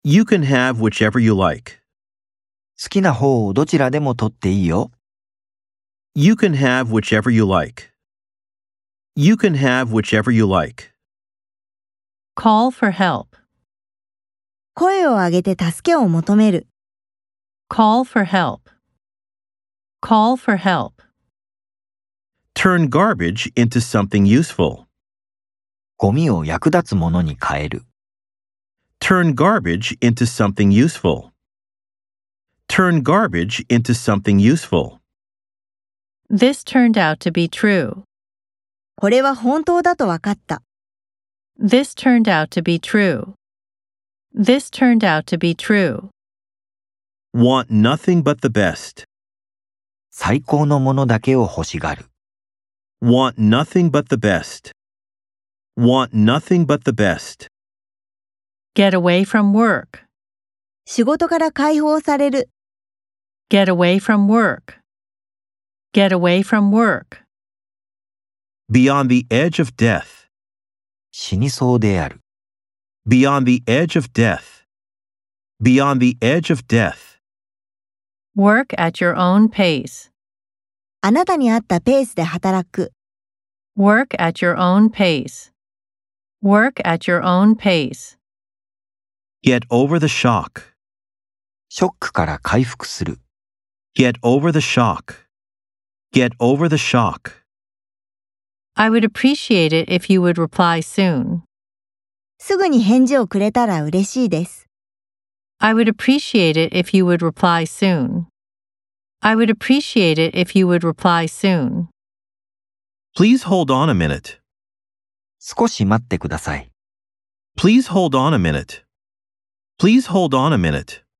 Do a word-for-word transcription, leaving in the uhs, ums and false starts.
You can have whichever you like. 好きな方をどちらでも取っていいよ。 You can have whichever you like. You can have whichever you like. Call for help. 声を上げて助けを求める。 Call for help. Call for help. Turn garbage into something useful. ゴミを役立つものに変える。 Turn garbage into something useful. Turn garbage into something useful. This turned out to be true. これは本当だと分かった。 This turned out to be true. This turned out to be true. Want nothing but the best. 最高のものだけを欲しがる。 Want nothing but the best. Want nothing but the best. Get away from work. 仕事から解放される。 Get away from work. Get away from work. Beyond the edge of death. 死にそうである。 Beyond the edge of death. Beyond the edge of death. Work at your own pace. あなたに合ったペースで働く。 Work at your own pace. Work at your own pace. Get over the shock. ショックから回復する。 Get over the shock. Get over the shock. I would appreciate it if you would reply soon. すぐに返事をくれたら嬉しいです。 I would appreciate it if you would reply soon. I would appreciate it if you would reply soon. Please hold on a minute. 少し待ってください。 Please hold on a minute. Please hold on a minute.